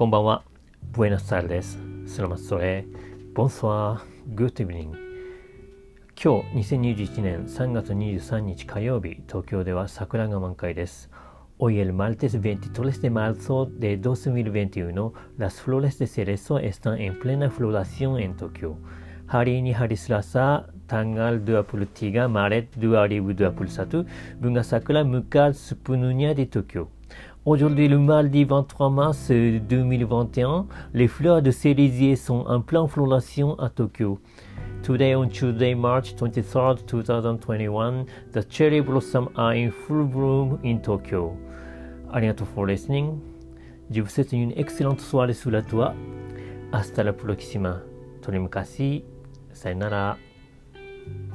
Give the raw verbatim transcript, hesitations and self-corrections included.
こんばんは。Buenas tardes. Selamat sore. Bonsoir. Good evening. 今日にせんにじゅういちねんさんがつにじゅうさんにち火曜日、東京では桜が満開です。Hoy el martes veintitrés de marzo de dos mil veintiuno, las flores de cerezo están en plena floración en Tokyo. Hari ni hari Selasa, tanggal dua puluh tiga Maret dua ribu dua puluh satu, bunga sakura mekar sepenuhnya di Tokyo.Aujourd'hui, le mardi vingt-trois mars deux mille vingt et un, les fleurs de cerisier sont en pleine floraison à Tokyo. Today, on Tuesday, March twenty-third, twenty twenty-one, the cherry blossoms are in full bloom in Tokyo. ありがとう for listening. Je vous souhaite une excellente soirée sous la toit. Hasta la próxima. 取り昔。さよなら。